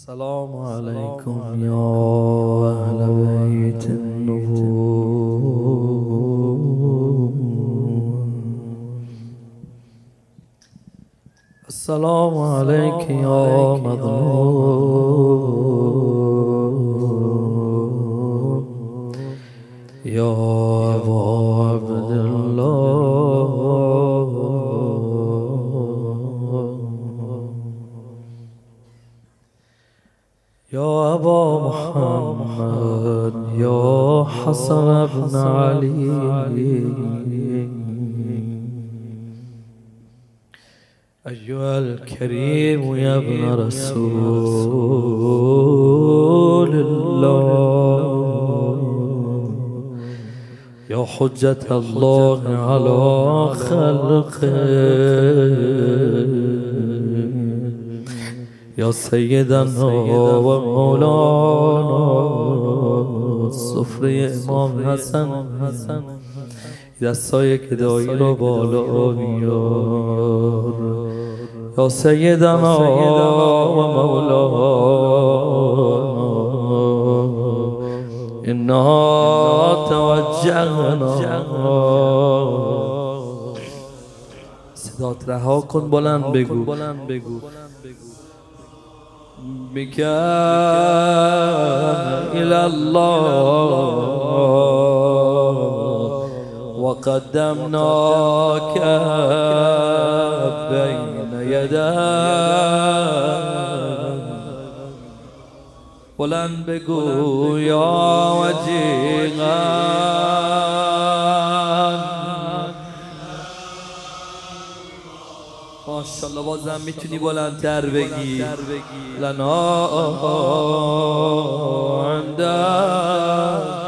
السلام عليكم يا أهل بيت النبوة. السلام عليك يا مظلوم يا أبا عبد الله. يا أبا محمد يا حسن بن علي أيها الكريم يا ابن رسول الله يا حجة الله على خلقه يا سيدنا ومولانا صفری امام حسن دستای گدایی رو بالا بیار یا سیدنا و مولانا انا توجهنا. صدات رها کن، بلند بگو بك إلى الله وقدمناك بين يداك. بلند بگو یا وجیها. ماشاءالله بازم میتونی بلندتر بگی. لنا عندك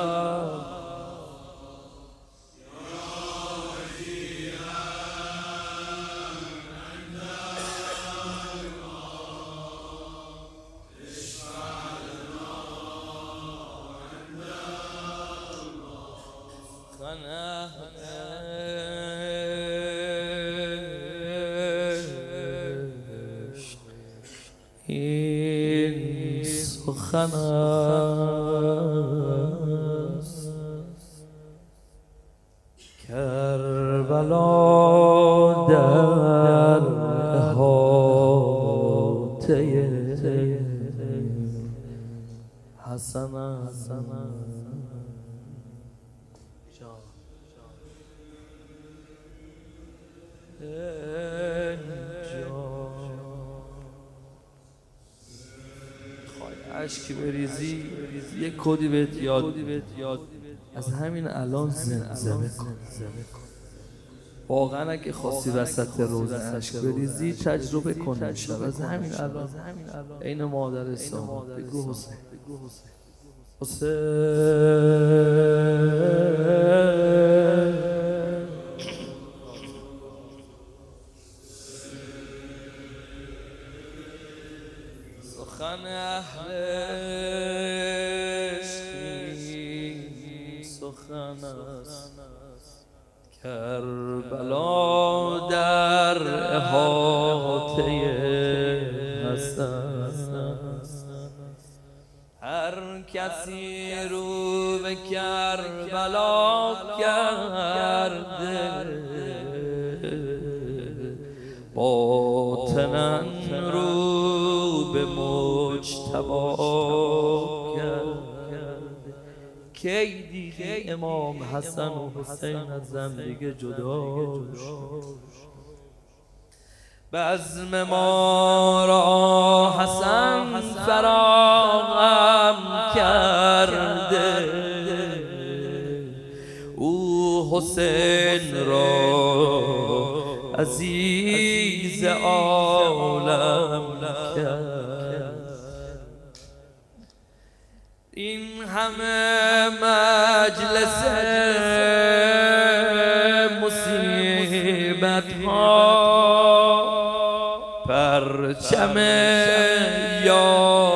این سخن است کربلا در احاطه حسن اشکی بریزی یک کدی بهت یاد از همین الان زمزمه کن. واقعا اگه خواستی وسط روزه اشک بریزی تجربه کن انشاءالله. از همین الان عین مادر سامان بگو حسین سخن اهل عشقی سخن است کربلا در احاطه حسن. هر کسی رو به کربلا کرده باطناً رو به مجتبی کرده. کی دیدی امام حسن و حسین از هم دیگه جدا شد؟ بزم ما را حسن فراهم کرده او حسین را عزیز عالم کرد. این همه مجلس مصیبت ها پرچم یا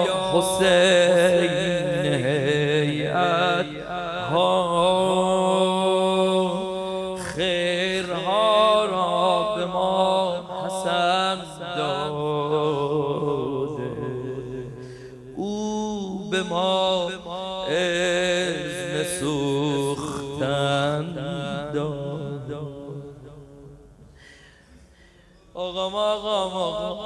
حسین هیئت ها خیرها را به ما حسن داده ما اذن سوختن داد. آقام آقام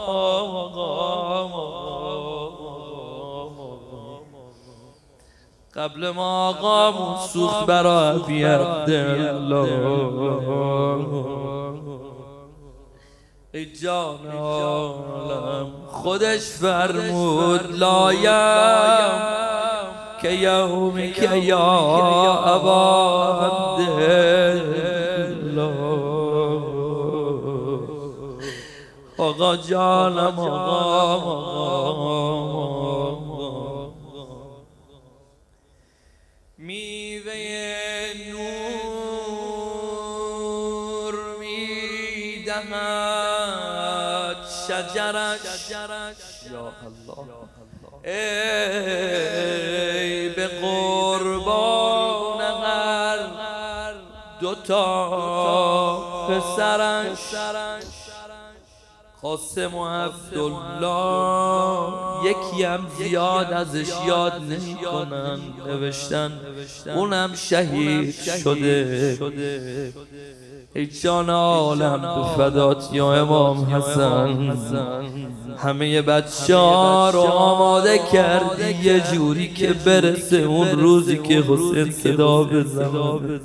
قبل ما آقامون سوخت برا ابی عبدالله، ای جان عالم خودش فرمود لایم که یومی که یا ابا عبدالله. آقا جانم آقا میوه نور میدهد شجرش، یا الله ای به قربان هر دوتا پسرش. قاسم و عبدالله یکی هم زیاد ازش یاد نمی کنن، نوشتن اونم شهید شده. ای جان عالم به فدات یا امام حسن، همه بچه ها رو آماده کردی یه جوری که برسه اون روزی که حسین صدا بزنه.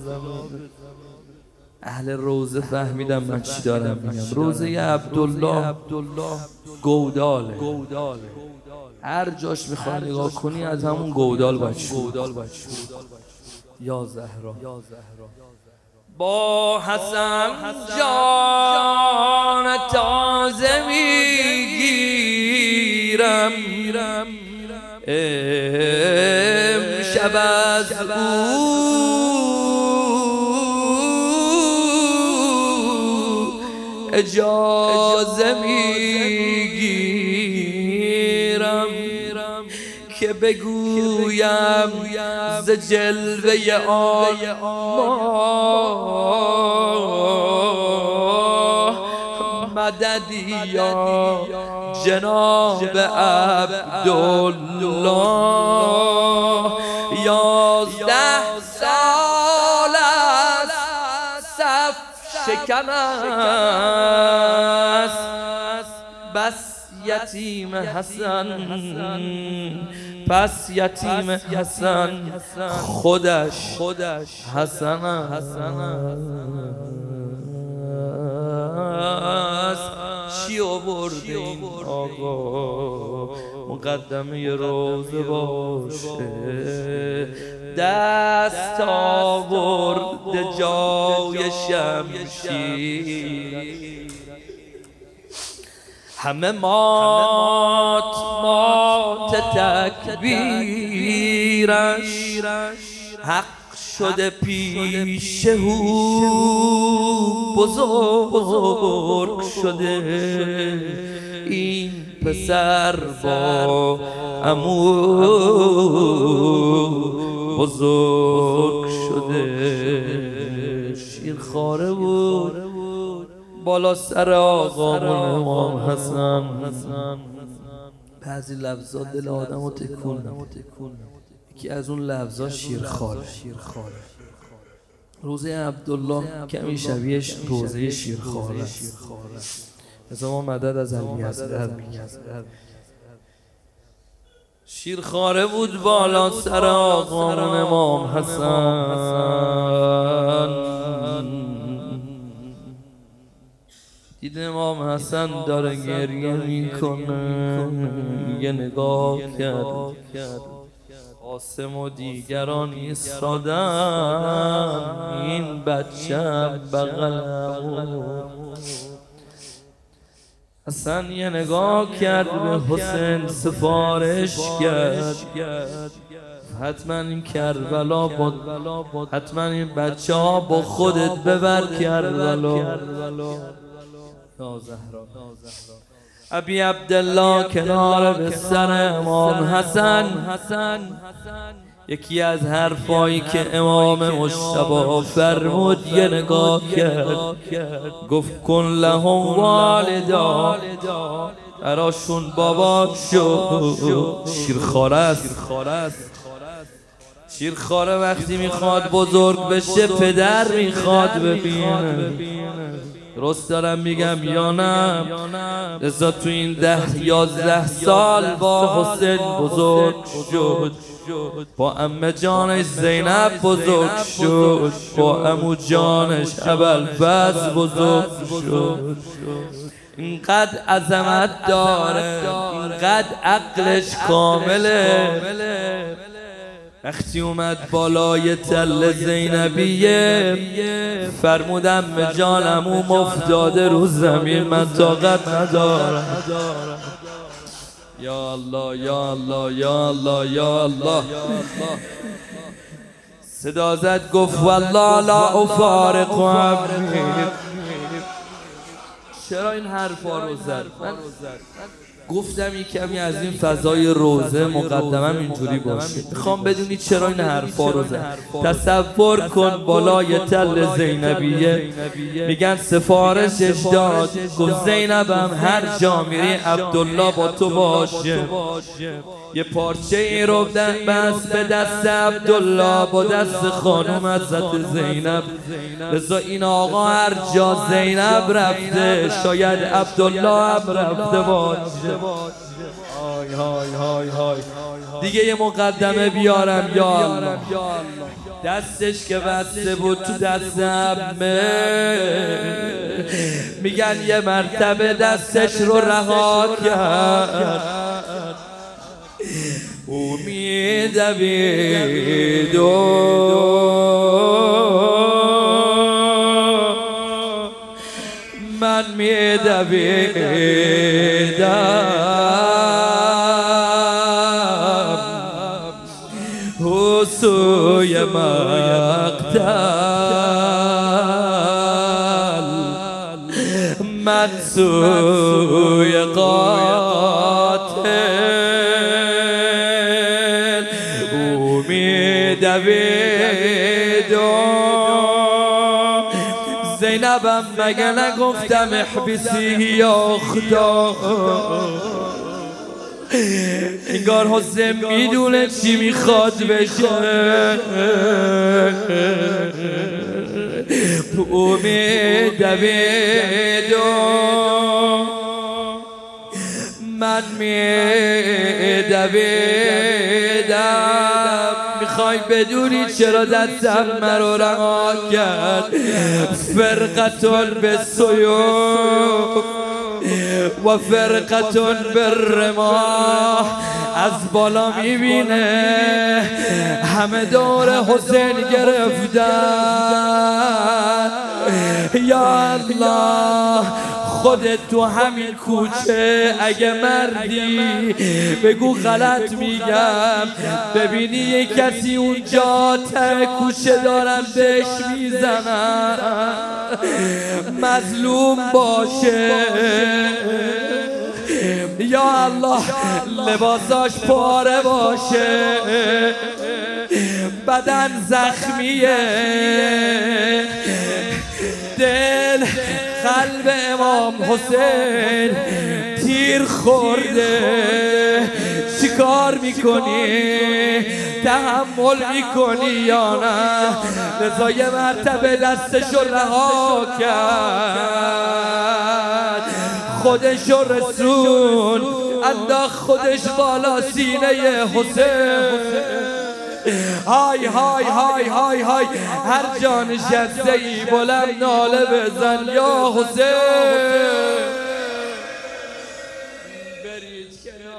اهل روزه فهمیدم من چی دارم میگم. روزه عبدالله گوداله، هر جاش میخوای نگاه کنی از همون گودال باید شروع. یا زهرا با حسن جان تازه میگیرم، امشب از او اجازه میگیرم که بگویم ز جلوه آن مددی یا جناب عبدالله. 11 سال است صف شکن است، بس یتیم حسن، پس یتیم حسن خودش حسن است. چی آورده این آقا مقدمه روزه باشه، دست آورده جای شمشیر، همه مات تکبیرش، حق شده پیش او بزرگ شده. این پسر با عمو بزرگ شده. شیرخواره بود بالا سر آقامون امام حسن. بعضی لفظات دل آدم رو تکون. یکی از اون لفظات شیرخواره. روزه عبدالله کمی شبیهش روزه شیرخواره است. مثلا ما مدد از علی اصغر میگیم. شیرخواره بود بالا سر آقامون امام حسن. دید امام حسن داره گریه میکنه، یه نگاه کرد قاسم و دیگران ایستادن، این بچه بغلم. حسن یه نگاه کرد به حسین سفارش کرد، حتما این کربلا حتما این بچه ها با خودت ببر کربلا. یا زهرا ابی عبدالله کنار بستر امام حسن یکی از حرفایی که امام مجتبی فرمود یه نگاه کرد، گفت کن لهم والدا براشون بابا شد. شیرخواره است. شیرخواره وقتی میخواد بزرگ بشه پدر میخواد ببینه. درست دارم میگم یا نه؟ لذا تو این 10-11 سال با حسین بزرگ شد، با عمه جانش زینب بزرگ شد، با عمو جانش ابوالفضل بزرگ شد. اینقدر عظمت داره، اینقدر عقلش کامله. وقتی اومد بالای تل زینبیه فرمودم به جانم افتاده رو زمین، من طاقت ندارم. یا الله یا الله یا الله یا الله. صدا زد گفت والله لا افارق عمری. چرا این حرفا رو زد؟ من گفتم یک کمی از این فضای روزه مقدمم اینجوری باشه. میخوام بدونی چرا این حرفا رو زد. تصور کن بالای تل زینبیه میگن سفارشش داد، گفت زینبم هر جا میری عبدالله با تو باشه. یه پارچه این رو بس به دست عبدالله با دست خانم حضرت زینب. لذا این آقا هر جا زینب رفته شاید عبدالله هم رفته باشه. های های های های. دیگه یه مقدمه بیارم. یا الله، دستش که بسته بود تو دست عمه، میگن یه مرتبه دستش رو رها کرد. او می‌دوید من می‌دویدم سوی مقتل، من سوی قاتل. او می‌دوید زینبم مگه نگفتم احبسی یا خدا؟ انگار حسین میدونه چی میخواد بشه. او می‌دوید من می‌دویدم. میخوای بدونی چرا دستم مرا رها کرد؟ فرقتون به سیوف و فرقتون بالرماح. از بالا میبینه همه دور حسین گرفتن. یا الله، خودت تو همین کوچه اگه مردی بگو غلط میگم، ببینی یه کسی اونجا ته کوچه دارن بهش میزنن، مظلوم باشه. یا الله، لباساش پاره باشه، بدن زخمیه، دل قلب امام حسین تیر خورده. چی کار میکنی؟ تحمل میکنی یا نه؟ لذا یه مرتبه دستشو رها کرد، خودشو رسون انداخت خودش بالا سینه حسین. های های های های های، هر جا نشسته ای بلند ناله بزن یا حسین. برید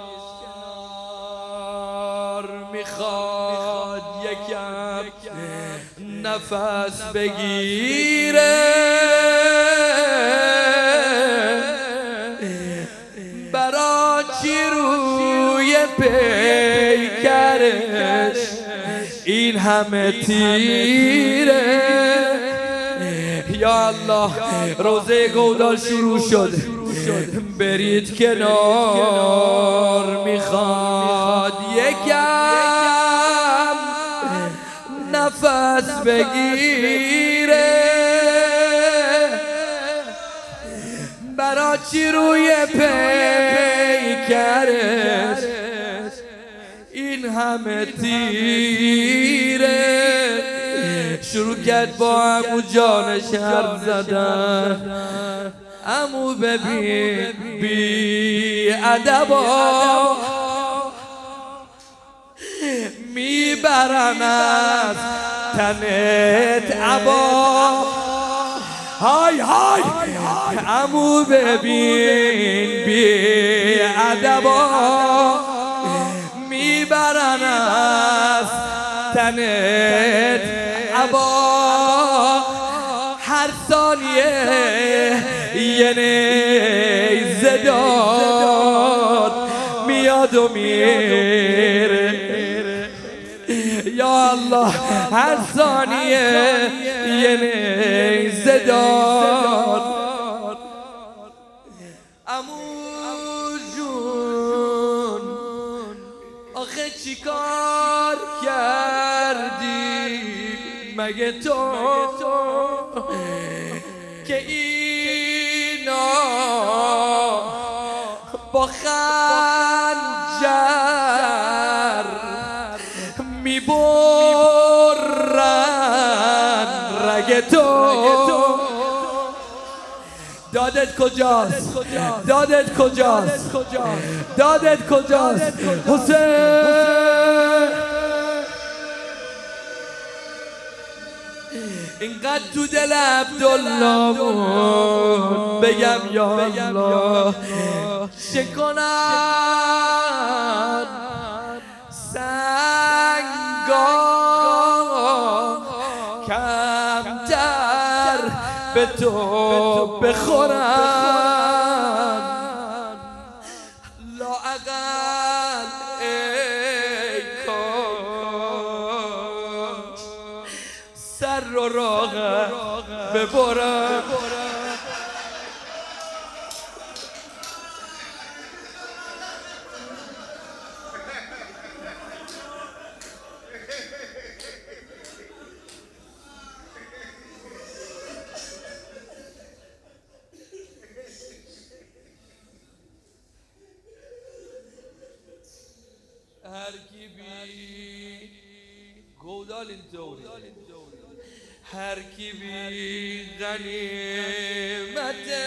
کنار، میخواد یکم نفس بگیره. برا چی روی پیکرش این همه تیره؟ یا الله، روزه گودال شروع شد. برید کنار، میخواد یکم نفس بگیره. برا چی روی پیکرش پیکرش این همه تیره. شروع کرد با عمو جانش حرف زدن. عمو ببین بی ادبا میبرن از تنت عبا. های های عمو ببین بی ادبا میبرن از تنت عبا. هر ثانیه یه نیزه داد میاد و میره. یا الله هر ثانیه یه نیزه داد. عمو جون آخه چی کار کردی مگه تو که اینا با خنجر میبرن رگ تو. دادت کجاست؟ دادت کجاست؟ دادت کجاست؟ حسین اینقدر تو دل عبدالله بود بگم یا الله چه کنن سنگا کمتر به تو بخورن. لااقل ای کاش سر رو راغب ببرن. هر کی بی گودال اینطوری هر کی بی غنیمته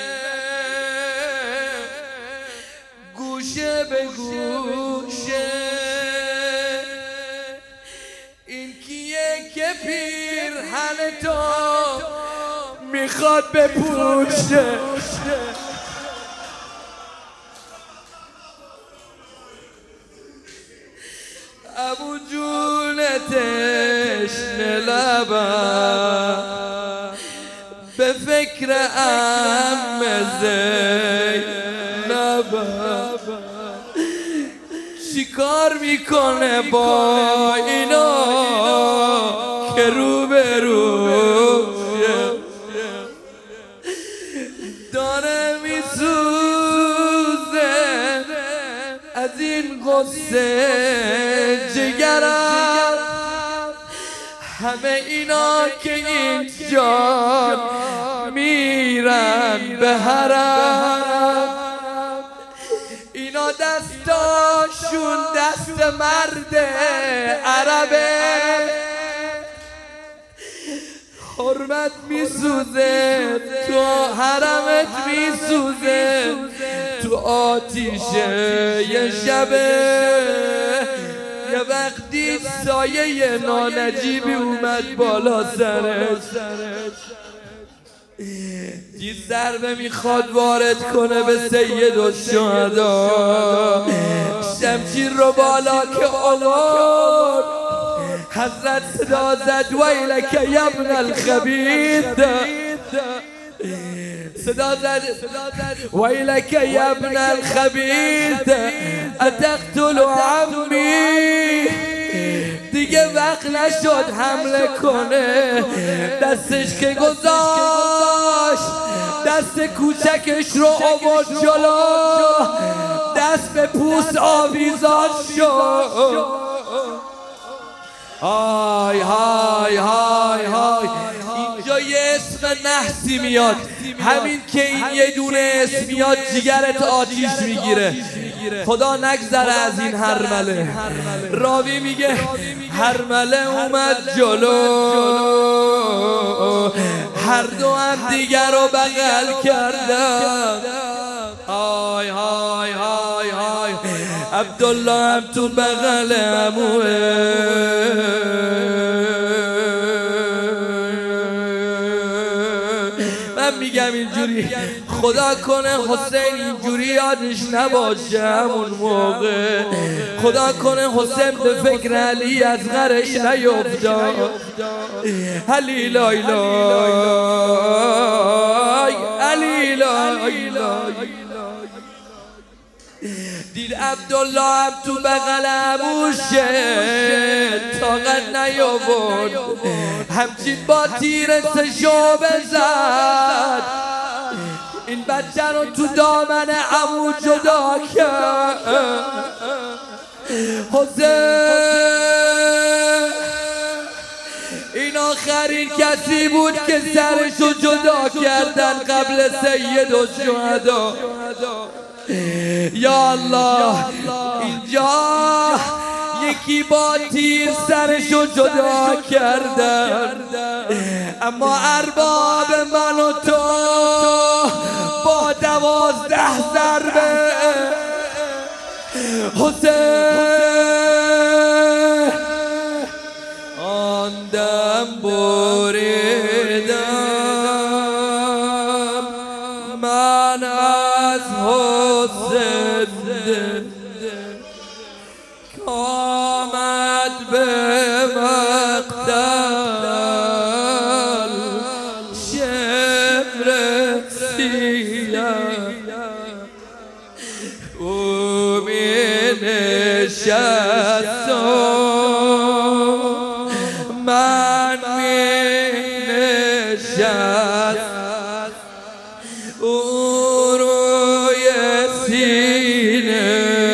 گوشه به گوشه این کیه که پیرهن تو میخواد بپوشه. ابو جون تشنه لبم به فکر عم زینبم چی کار میکنه با اینا که رو به رو داره میسوزه از این غصه جگرم. همه اینا که اینجا میرن به حرم اینا دستاشون دست مرد عربه. حرمت میسوزه تو حرمت میسوزه تو آتیش یه شبه. یه وقتی سایه نانجیبی اومد بالا سرش یه ضربه میخواد وارد کنه به سید الشهدا. شمشیر رو بالا که آورد حضرت صدا زد ویلک یبن الخبیث. صدا زد ویلک یبن الخبیث اتقتل عمی. دیگه وقت نشد حمله کنه دستش که گذاشت دست کوچکش رو آورد جلو دست به پوست آویزان شد. های های های های اینجا یه اسم نحسی میاد همین که این یه دونه اسم میاد جگرت آتیش میگیره. خدا نگذره از این هرمله. راوی میگه هرمله اومد جلو، هر دو هم دیگر رو بغل کردن. های های های های عبدالله هم تو بغل عموه. من میگم اینجوری خدا کنه حسین اینجوری یادش نباشه همون موقع. خدا کنه حسین به فکر علی از غرش نیفتاد. علی لای لای علی لای لای. دید عبدالله هم تو بغل عموشه طاقت نیاورد، همچین با تیر سشو بزد، این بچه رو تو دامن عمو جدا کرد. حسین این آخرین کسی بود که سرشو جدا کردن قبل سید الشهدا. یا الله اینجا یکی با تیر سرشو جدا کردن، اما ارباب من و تو با 12 ضربه حسین آن دم بریدم من از حسین آمد به مقتل شمر سیه او می نشست من می نشست او روی سینه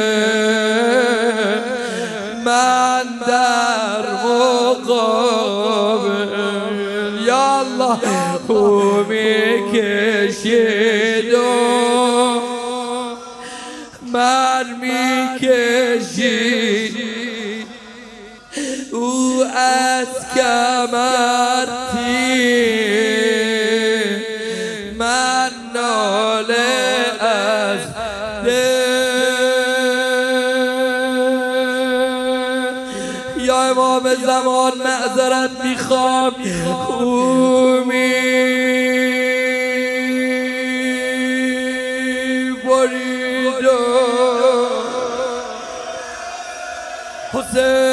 من در مقابل. یا الله او می کشید و من می کشید او از کمر تیر من ناله از دل. یا امام زمان معذرت میخوام او می برید حسین